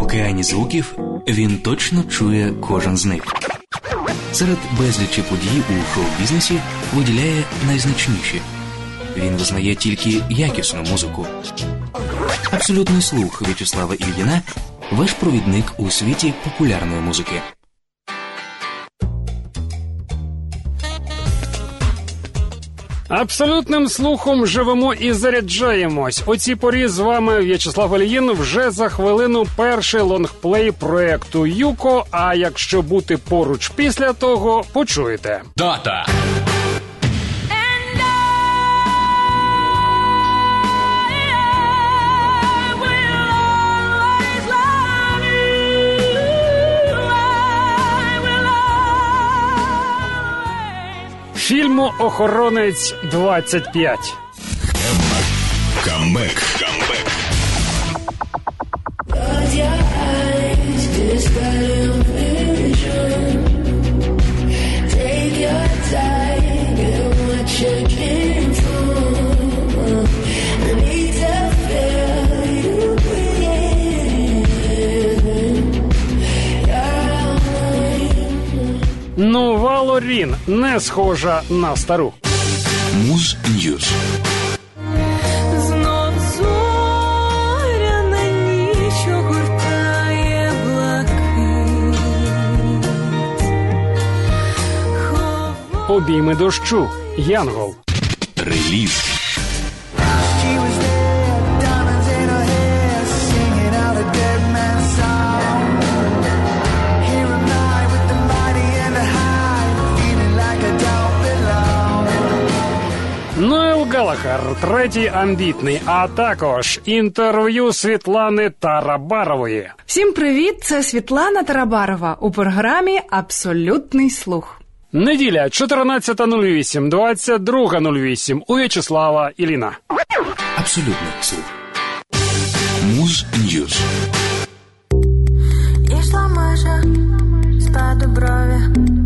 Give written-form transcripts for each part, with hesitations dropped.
океані звуків він точно чує кожен з них. Серед безлічі подій у шоу-бізнесі виділяє найзначніші. Він визнає тільки якісну музику. Абсолютний слух В'ячеслава Ільїна – ваш провідник у світі популярної музики. Абсолютним слухом живемо і заряджаємось. У цій порі з вами В'ячеслав Ільїн. Вже за хвилину перший лонгплей проекту «Юко», а якщо бути поруч після того, почуєте. Дата! Фільму «Охоронець 25». Камбек. Нова Лорін не схожа на стару. Муз Ньюз. Знов зоряна ніч огортає блакить. Обійми дощу. Янгол. Реліз. Ноел Галлахер, третій амбітний, а також інтерв'ю Світлани Тарабарової. Всім привіт, це Світлана Тарабарова у програмі «Абсолютний слух». Неділя, 14.08, 22.08 у В'ячеслава Ільїна. Абсолютний слух. Муз Ньюз. Ішла межа спаду брові.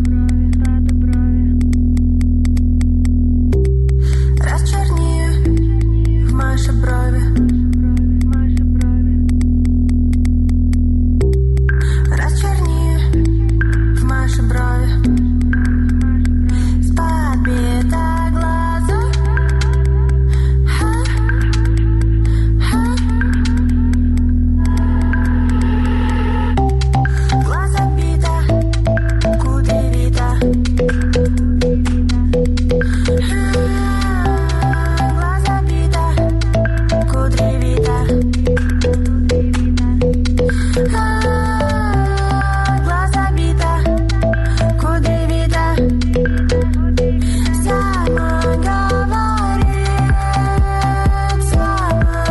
Розчорніє в маші брові. Розчорніє в маші брові. Спад біта глазу. Глаза бита, кудрявита. Глаза бита, кудрявита. Глаза бита, кудрявита. Сама говорит, сама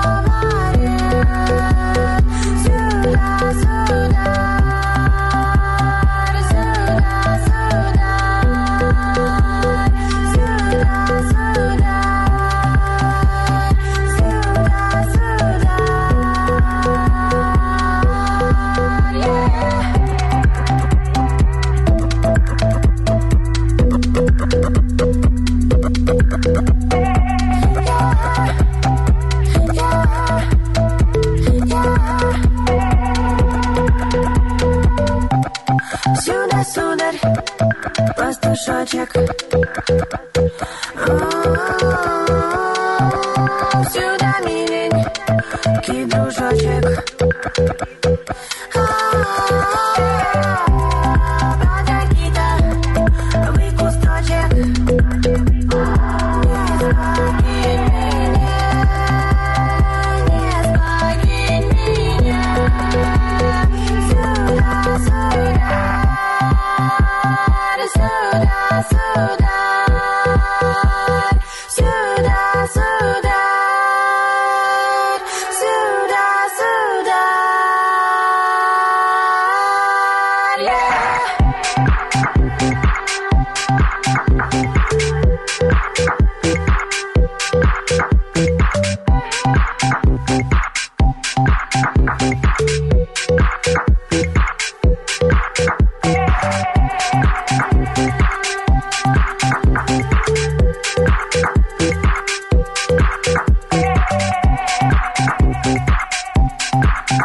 говорит. Сюда, сюда, сюда, сударь, пастушочек. Сюда, миленький дружочек. Подойди-то, вы кусточек. Не спокинь меня, не спокинь меня. Сюда, сюда. Сюда, сюда, сюда, сюда.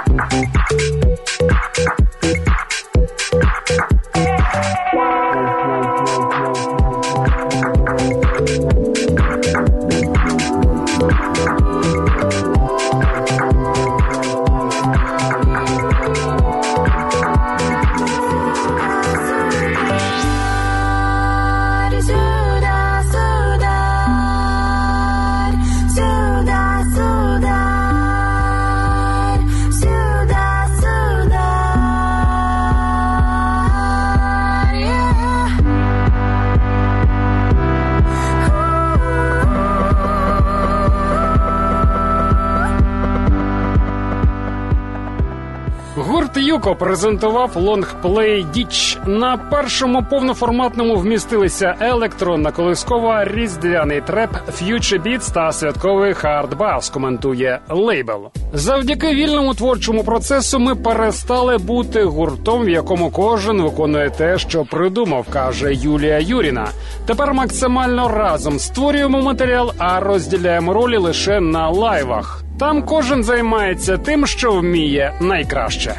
Юко презентував лонгплей «Діч». На першому повноформатному вмістилися електронна колискова, різдвяний треп, ф'ючер бітс та святковий хард-бас, коментує лейбл. Завдяки вільному творчому процесу ми перестали бути гуртом, в якому кожен виконує те, що придумав, каже Юлія Юріна. Тепер максимально разом створюємо матеріал, а розділяємо ролі лише на лайвах. Там кожен займається тим, що вміє найкраще.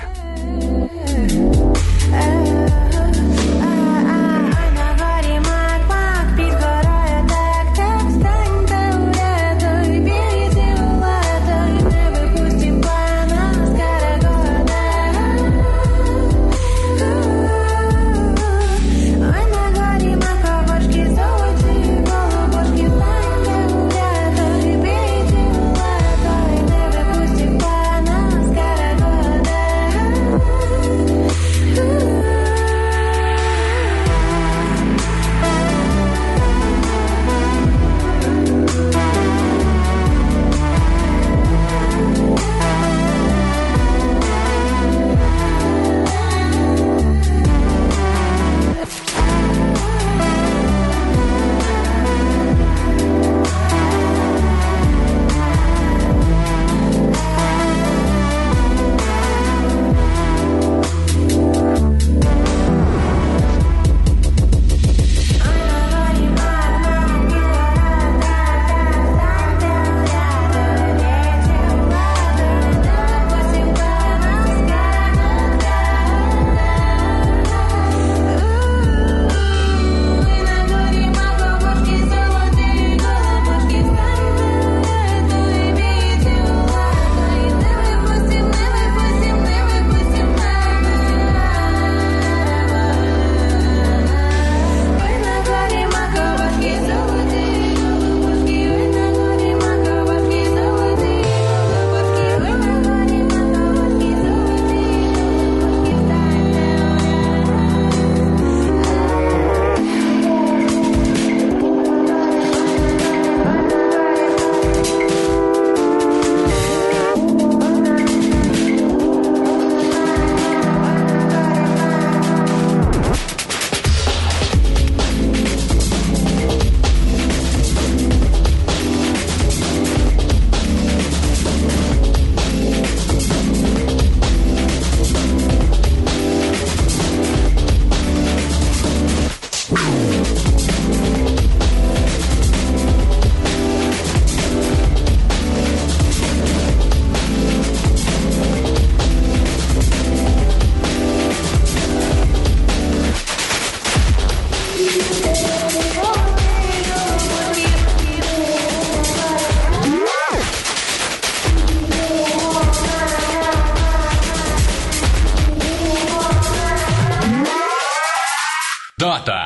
Дата.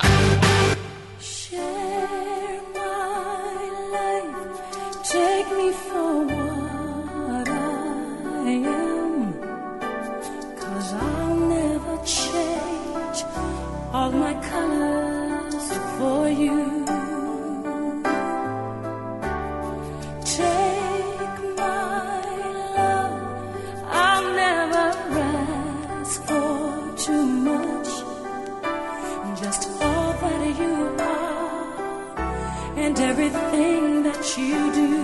And everything that you do,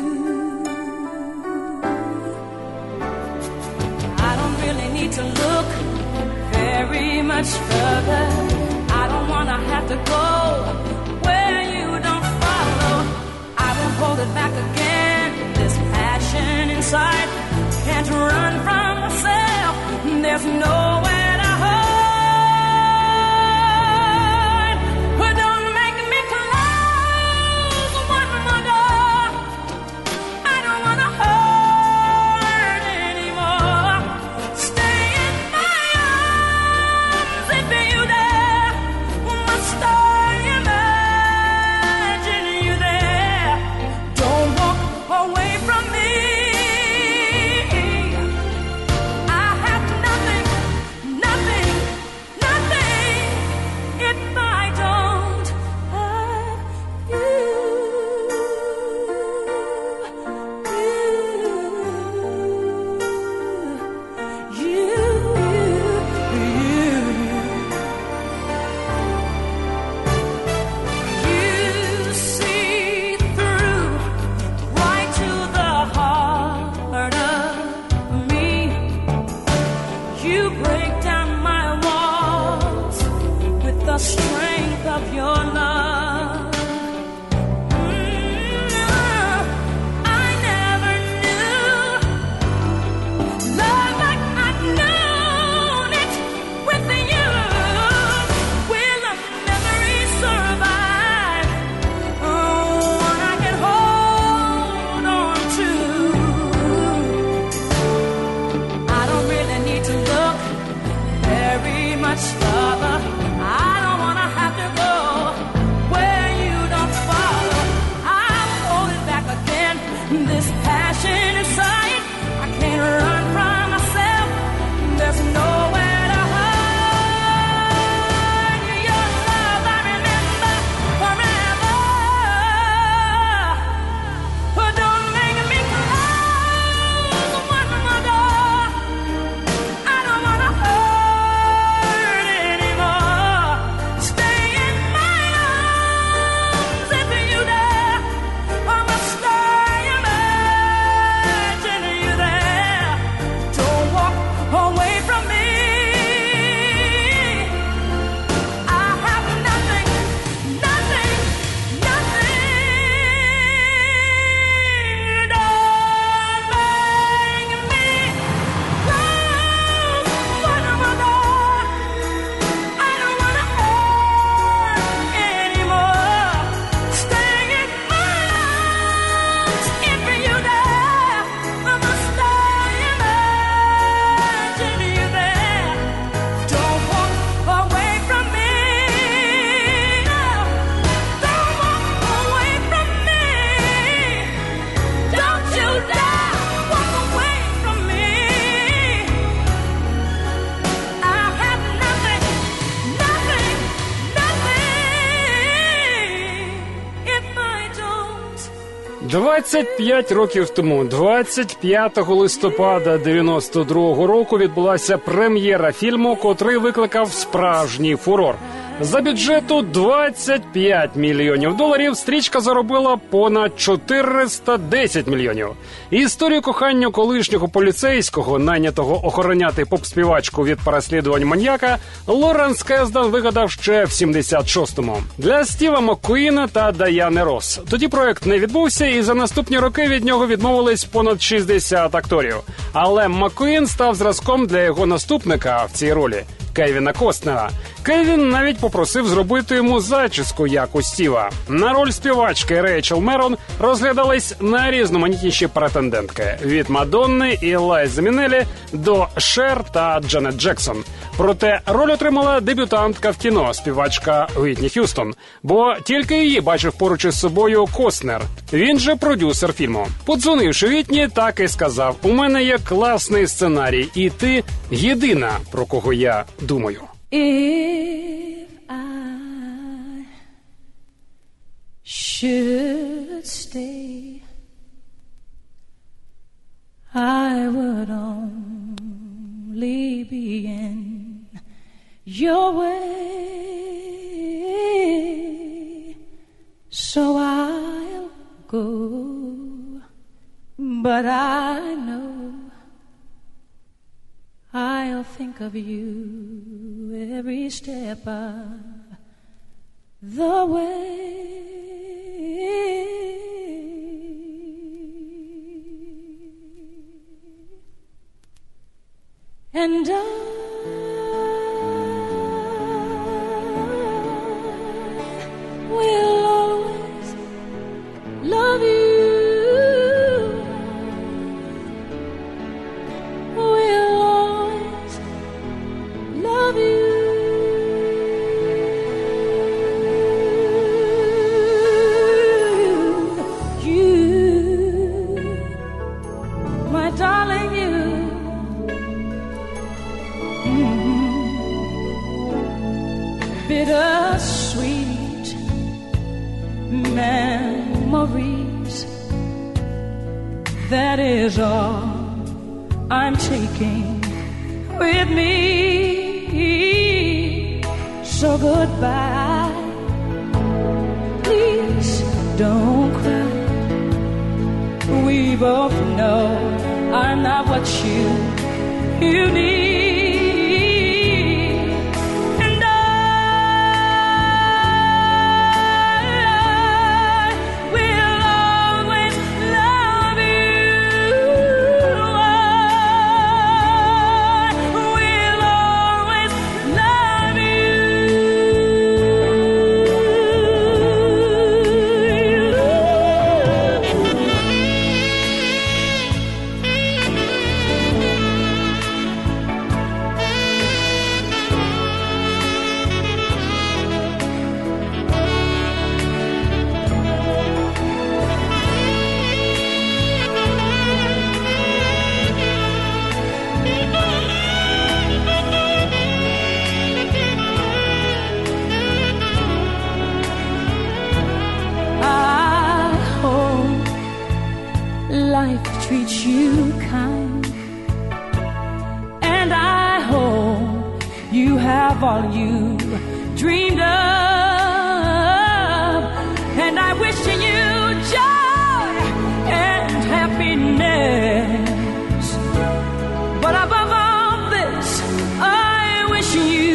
I don't really need to look very much further. I don't wanna have to go where you don't follow. I won't hold it back again. This passion inside can't run from myself. There's nowhere to hide. But don't make me close one more door. I don't wanna hurt anymore. Stay in my arms if you dare. Must I imagine you there? Don't walk away from me. I have nothing, nothing, nothing if I don't have you. You see through right to the heart of me. You break down my walls with the strength of your love. I never knew love like I've known it with you. Will a memory survive? One I can hold on to. I don't really need to look very much further. I don't wanna have to go where you don't follow. I'll hold it back again. This passion inside, I can't run from myself. There's nowhere to hide. Your love I remember forever. But don't make me close one more door. I don't wanna hurt anymore. Stay in my arms if you dare. Or must I imagine you there? Don't walk away from me. I have nothing, nothing, nothing. Don't make me close one more door. I don't wanna hurt anymore. Stay in my arms if you dare. Or must I imagine you there? Don't walk away from me. No, don't walk away from me. Don't you dare walk away from me. I have nothing, nothing, nothing if I don't. 25 років тому, 25 листопада 92-го року, відбулася прем'єра фільму, котрий викликав справжній фурор. За бюджету $25 мільйонів стрічка заробила понад 410 мільйонів. Історію кохання колишнього поліцейського, найнятого охороняти поп-співачку від переслідувань маньяка, Лоренс Кездан вигадав ще в 76-му. Для Стіва Маккуїна та Даяни Росс. Тоді проект не відбувся, і за наступні роки від нього відмовились понад 60 акторів. Але Маккуїн став зразком для його наступника в цій ролі – Кевіна Костнера. Кевін навіть попросив зробити йому зачіску, як у Стіва. На роль співачки Рейчел Мерон розглядались найрізноманітніші претендентки – від Мадонни і Лайзи Мінелі до Шер та Джанет Джексон. Проте роль отримала дебютантка в кіно – співачка Уітні Х'юстон, бо тільки її бачив поруч із собою Костнер. Він же продюсер фільму. Подзвонивши Уітні, так і сказав: «У мене є класний сценарій, і ти єдина, про кого я думаю». If I should stay, I would only be in your way, so I'll go, but I know I'll think of you every step of the way. And I will always love you. Will always love you. You, my darling, you. Bittersweet memories, that is all I'm taking with me. So goodbye, please don't cry. We both know I'm not what you need. Life treats you kind, and I hope you have all you dreamed of, and I wish you joy and happiness, but above all this, I wish you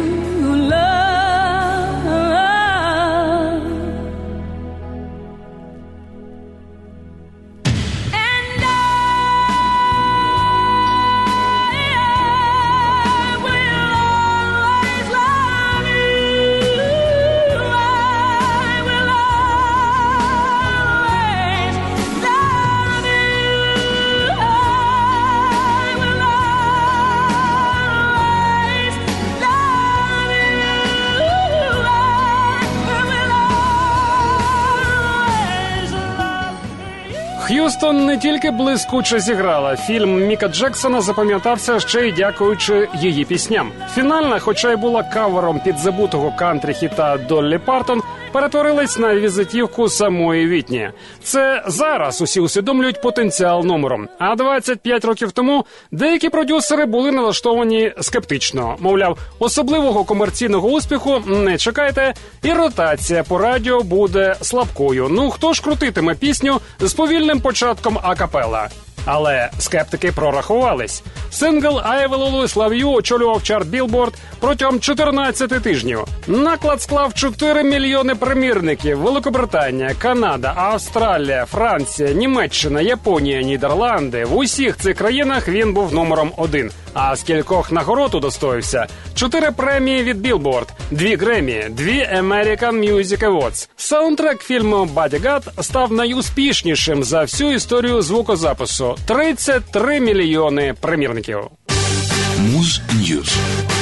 Х'юстон не тільки блискуче зіграла. Фільм Міка Джексона запам'ятався ще й дякуючи її пісням. Фінальна, хоча й була кавером підзабутого кантрі-хіта Доллі Партон, перетворилась на візитівку самої Вітні. Це зараз усі усвідомлюють потенціал номеру. А 25 років тому деякі продюсери були налаштовані скептично. Мовляв, особливого комерційного успіху не чекайте, і ротація по радіо буде слабкою. Ну, хто ж крутитиме пісню з повільним початком акапела? Але скептики прорахувались. Сингл «I Will Always Love You» очолював чарт Billboard протягом 14 тижнів. Наклад склав 4 мільйони примірників. Великобританія, Канада, Австралія, Франція, Німеччина, Японія, Нідерланди. В усіх цих країнах він був номером 1. А з кількох нагород удостоївся: 4 премії від Billboard, 2 Греммі, 2 American Music Awards. Саундтрек фільму «Бодігард» став найуспішнішим за всю історію звукозапису. 33 мільйони примірників. Муз Ньюз.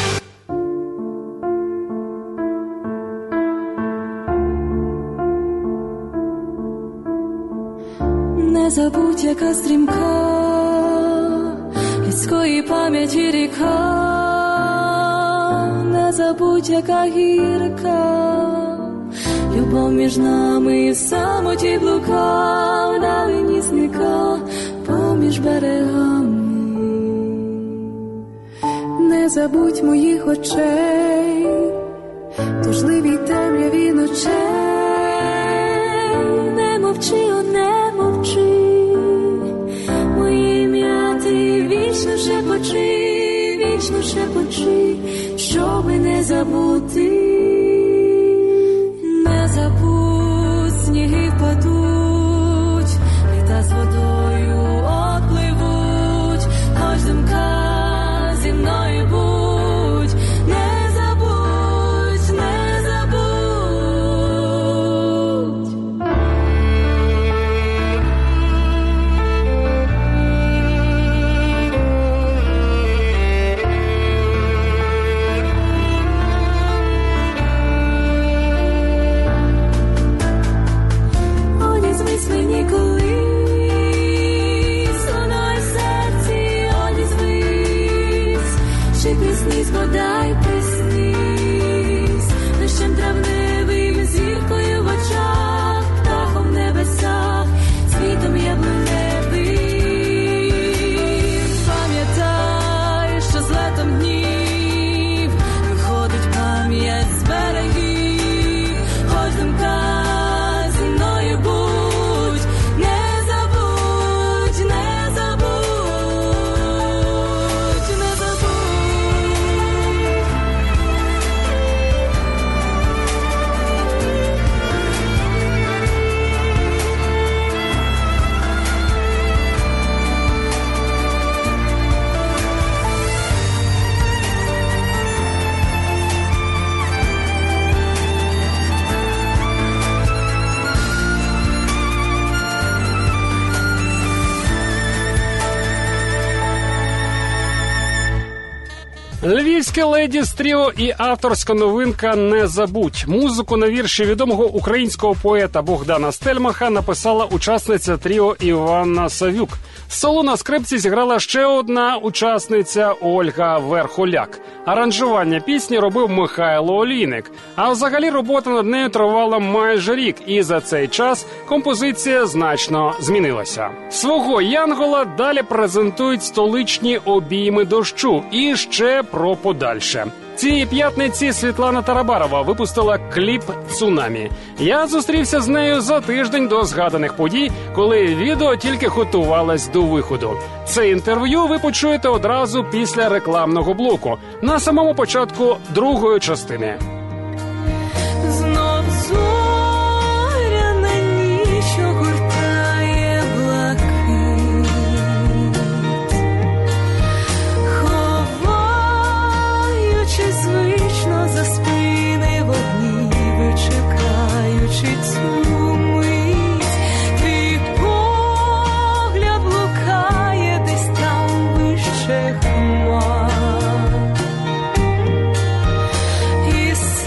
Не забудь, яка стрімка людської пам'яті ріка, не забудь, яка гірка любов між нами, і в самоті блукав, вдалині сника поміж берегами. Не забудь моїх очей, тужливій темряві ночей. Не мовчи, о, не мовчи, моє ім'я ти вічно шепочи, щоби не забути. Не забудь, сніги впадуть, літа з водою отпливуть, хоч думка зі приснись, бодай приснись, дощем травневим, зіркою в очах, птахом в небесах, світом яблуневим. Пам'ятай, що з летом днів виходить пам'ять з берегів, хоч думка зі мною будь, не забудь, не забудь, не забудь. Львівське Ледіс Тріо і авторська новинка «Не забудь». Музику на вірші відомого українського поета Богдана Стельмаха написала учасниця тріо Іванна Савюк. Соло на скрипці зіграла ще одна учасниця Ольга Верхоляк. Аранжування пісні робив Михайло Олійник. А взагалі робота над нею тривала майже рік, і за цей час композиція значно змінилася. Свого Янгола далі презентують столичні обійми дощу. І ще про подальше. Цієї п'ятниці Світлана Тарабарова випустила кліп «Цунамі». Я зустрівся з нею за тиждень до згаданих подій, коли відео тільки готувалось до виходу. Це інтерв'ю ви почуєте одразу після рекламного блоку, на самому початку другої частини. Знов зоряна ніч огортає блакит, ховаючи звично за спини вогні, вичекаючи цю мить, твій погляд блукає десь там вище хмар. І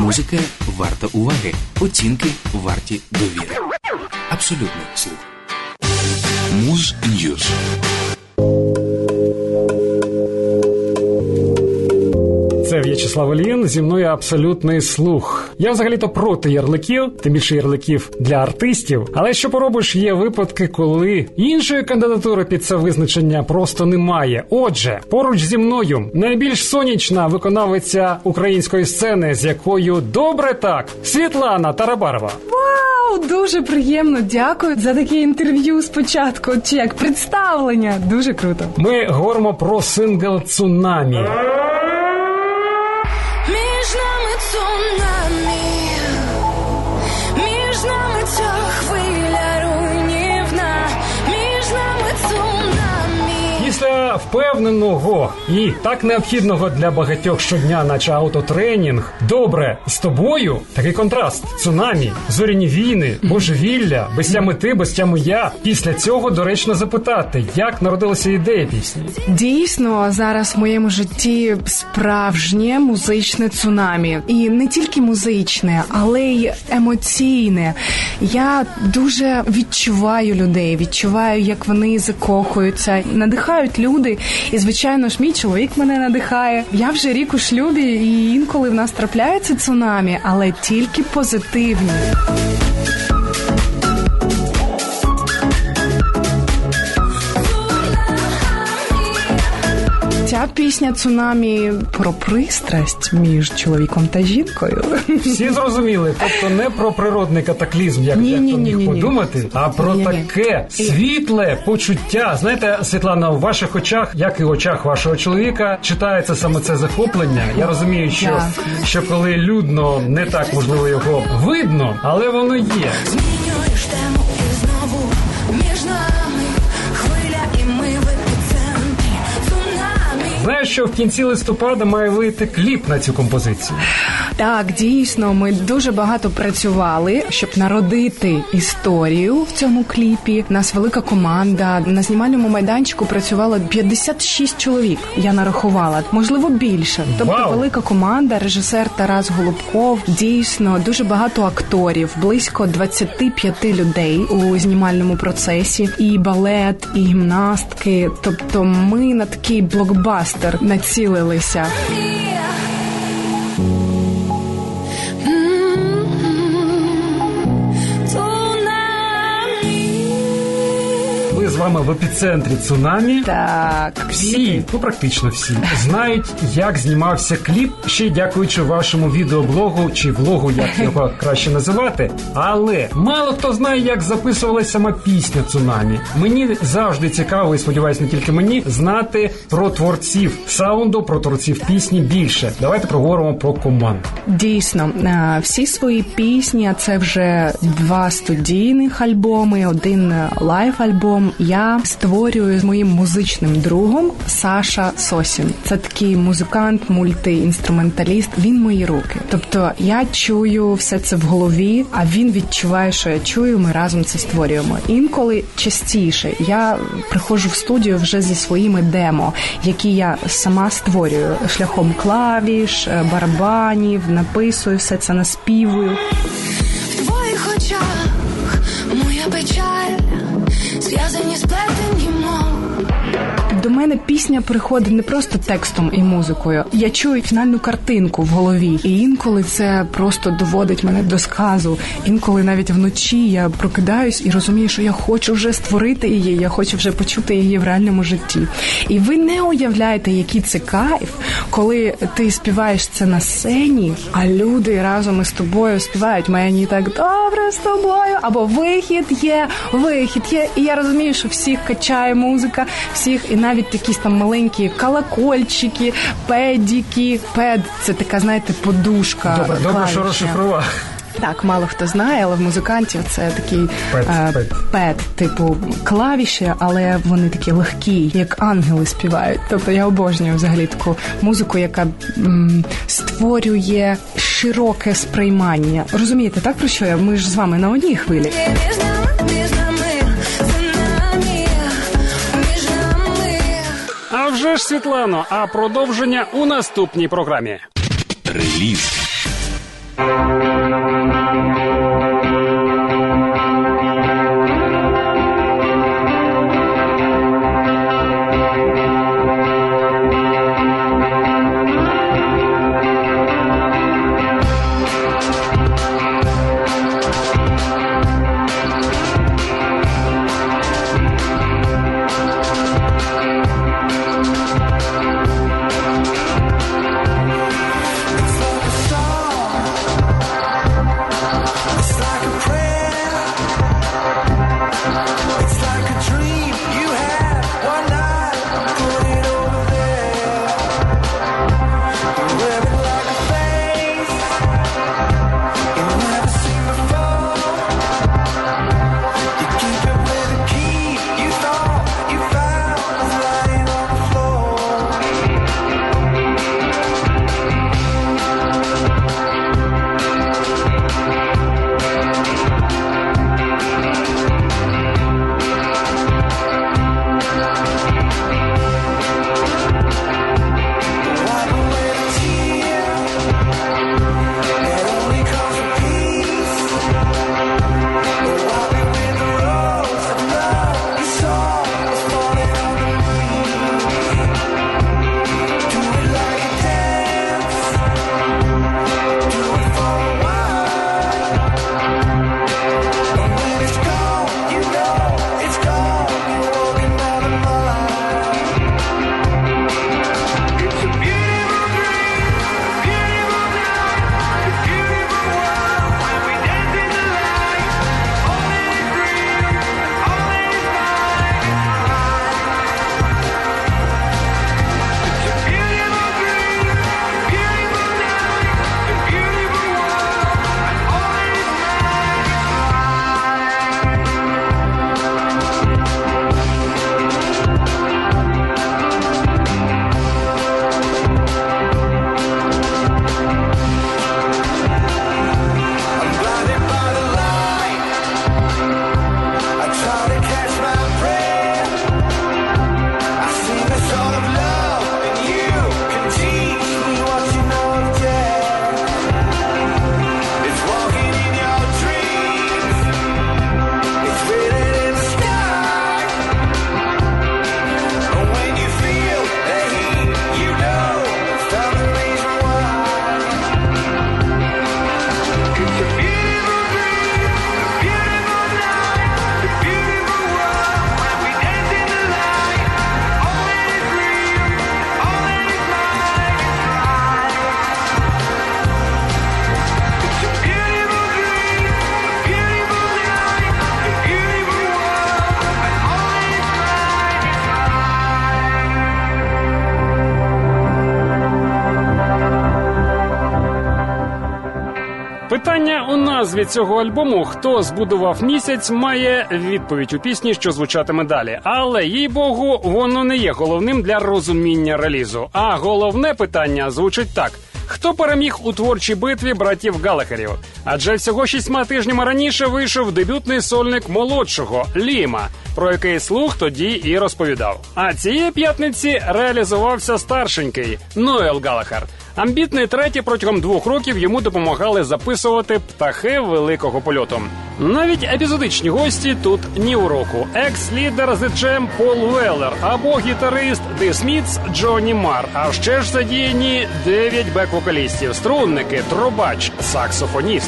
Музика варта уваги, оцінки варті довіри. Абсолютний слух. Муз Ньюз. Це В'ячеслав Ільїн, зі мною абсолютний слух. Я взагалі-то проти ярликів, тим більше ярликів для артистів. Але що поробиш, є випадки, коли іншої кандидатури під це визначення просто немає. Отже, поруч зі мною найбільш сонячна виконавиця української сцени, з якою добре так, Світлана Тарабарова. Вау, дуже приємно, дякую за таке інтерв'ю спочатку, чи як представлення. Дуже круто. Ми говоримо про сингл «Цунамі». Між нами цунамі, між нами ця хвиля руйнівна, між нами цунамі. Після впевненого і так необхідного для багатьох щодня, наче автотренінг, добре з тобою, такий контраст, цунамі, зоряні війни, божевілля, без тя мети, без тя я. Після цього доречно запитати, як народилася ідея пісні? Дійсно, зараз в моєму житті справжнє музичне цунамі. І не тільки музичне, але й емоційне. Я дуже відчуваю людей, відчуваю, як вони закохуються, надихають люди. І, звичайно ж, мій чоловік мене надихає. Я вже рік у шлюбі, і інколи в нас трапляються цунамі, але тільки позитивні. Ця пісня «Цунамі» про пристрасть між чоловіком та жінкою. Всі зрозуміли, тобто не про природний катаклізм, як дехто міг подумати, а про таке світле почуття. Знаєте, Світлана, у ваших очах, як і в очах вашого чоловіка, читається саме це захоплення. Я розумію, що коли людно, не так, можливо, його видно, але воно є. Змінюєш тему і знову між нами хвиля, і ми в епіцентрі цунамі. Знаєш, що в кінці листопада має вийти кліп на цю композицію? Так, дійсно, ми дуже багато працювали, щоб народити історію в цьому кліпі. У нас велика команда. На знімальному майданчику працювало 56 чоловік, я нарахувала. Можливо, більше. Тобто велика команда, режисер Тарас Голубков. Дійсно, дуже багато акторів, близько 25 людей у знімальному процесі. І балет, і гімнастки. Тобто ми на такий блокбастер націлилися. З вами в епіцентрі цунамі. Так. Всі, практично всі, знають, як знімався кліп, ще й дякуючи вашому відеоблогу, чи влогу, як його краще називати. Але мало хто знає, як записувалася сама пісня «Цунамі». Мені завжди цікаво, і сподіваюся, не тільки мені, знати про творців саунду, про творців пісні більше. Давайте проговоримо про команду. Дійсно, всі свої пісні, а це вже 2 студійних альбоми, 1 лайв-альбом, я створюю з моїм музичним другом Саша Сосін. Це такий музикант, мультиінструменталіст. Він мої руки. Тобто я чую все це в голові, а він відчуває, що я чую, ми разом це створюємо. Інколи частіше я приходжу в студію вже зі своїми демо, які я сама створюю шляхом клавіш, барабанів, написую, все це наспівую. В твоїх очах моя печаль, зв'язані сплетені мов. До мене пісня приходить не просто текстом і музикою. Я чую фінальну картинку в голові. І інколи це просто доводить мене до сказу. Інколи навіть вночі я прокидаюсь і розумію, що я хочу вже створити її, я хочу вже почути її в реальному житті. І ви не уявляєте, який це кайф, коли ти співаєш це на сцені, а люди разом із тобою співають «Мені так добре з тобою», або вихід є. І я розумію, що всіх качає музика, всіх, і навіть якісь там маленькі колокольчики, педики. Пед – це така, знаєте, подушка. Добре, що розшифрував. Так, мало хто знає, але в музикантів це такий пед, типу клавіші, але вони такі легкі, як ангели співають. Тобто я обожнюю взагалі таку музику, яка створює широке сприймання. Розумієте, так про що я? Ми ж з вами на одній хвилі. А вже ж, Світлано, а продовження у наступній програмі. Реліз. Питання у назві цього альбому «Хто збудував місяць» має відповідь у пісні, що звучатиме далі. Але, їй-богу, воно не є головним для розуміння релізу. А головне питання звучить так. Хто переміг у творчій битві братів Галлахерів? Адже всього 6 тижнями раніше вийшов дебютний сольник молодшого – Ліма, про який слух тоді і розповідав. А цієї п'ятниці реалізувався старшенький – Ноел Галлахер. Амбітний третій протягом 2 років йому допомагали записувати птахи великого польоту. Навіть епізодичні гості тут ні уроку. Екс-лідер The Jam Пол Уеллер або гітарист The Smiths Джонні Марр. А ще ж задіяні 9 бек-вокалістів, струнники, трубач, саксофоніст.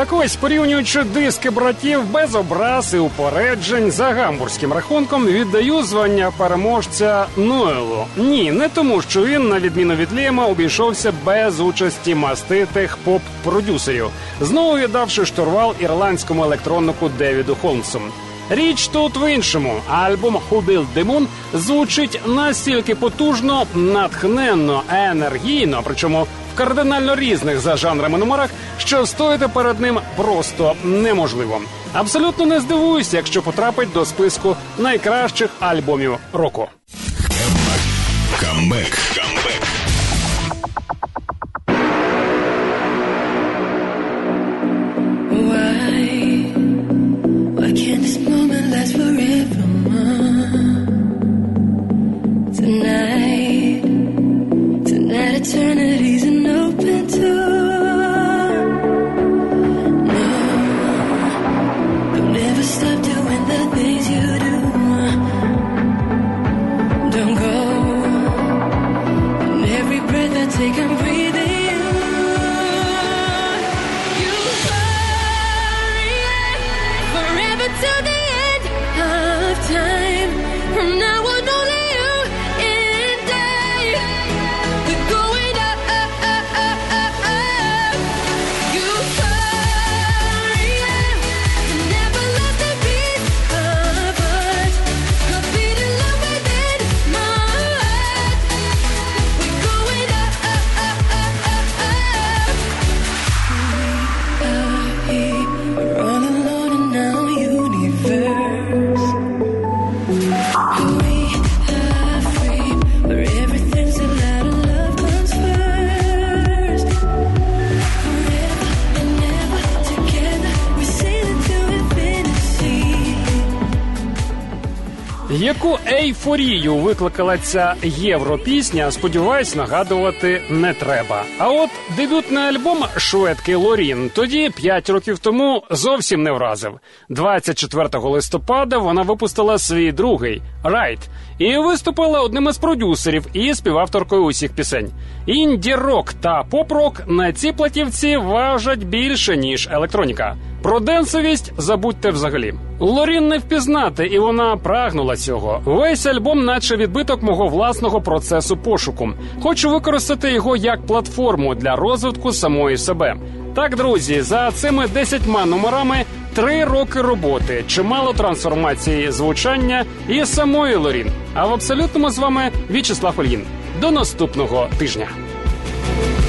Так ось, порівнюючи диски братів, без образ і упереджень, за гамбурзьким рахунком віддаю звання переможця Ноелу. Ні, не тому, що він, на відміну від Ліема, обійшовся без участі маститих поп-продюсерів, знову віддавши штурвал ірландському електроннику Девіду Холмсу. Річ тут в іншому. Альбом «Who Built the Moon» звучить настільки потужно, натхненно, енергійно, причому в кардинально різних за жанрами номерах, що стояти перед ним просто неможливо. Абсолютно не здивуюся, якщо потрапить до списку найкращих альбомів року. Камбек. Why can't this moment last forever? Tonight eternity's an open door. No, don't ever stop doing the things you do. Don't go. And every breath I take, I'm breathing you. You hurry forever to the end of time. From now on, only you and I. We're going up, up, up, up, up, up. You hurry and never let the beat of us. You're beating love within my heart. We're going up, up, up, up, up, up. We are here, we're all alone in our universe. We are free, where everything's allowed and love comes first. Forever and ever together, we sail into infinity. Яку ейфорію викликала ця європісня, сподіваюсь, нагадувати не треба. А от дебютний альбом шведки Лорін тоді, 5 років тому, зовсім не вразив. 24 листопада вона випустила свій другий «Right» і виступила одним із продюсерів і співавторкою усіх пісень. Інді-рок та поп-рок на цій платівці важать більше, ніж електроніка. Про денсовість забудьте взагалі. Лорін не впізнати, і вона прагнула цього. Весь альбом наче відбиток мого власного процесу пошуку. Хочу використати його як платформу для розвитку самої себе. Так, друзі, за цими 10 номерами 3 роки роботи, чимало трансформації звучання і самої Лорін. А в абсолютному з вами В'ячеслав Ільїн. До наступного тижня.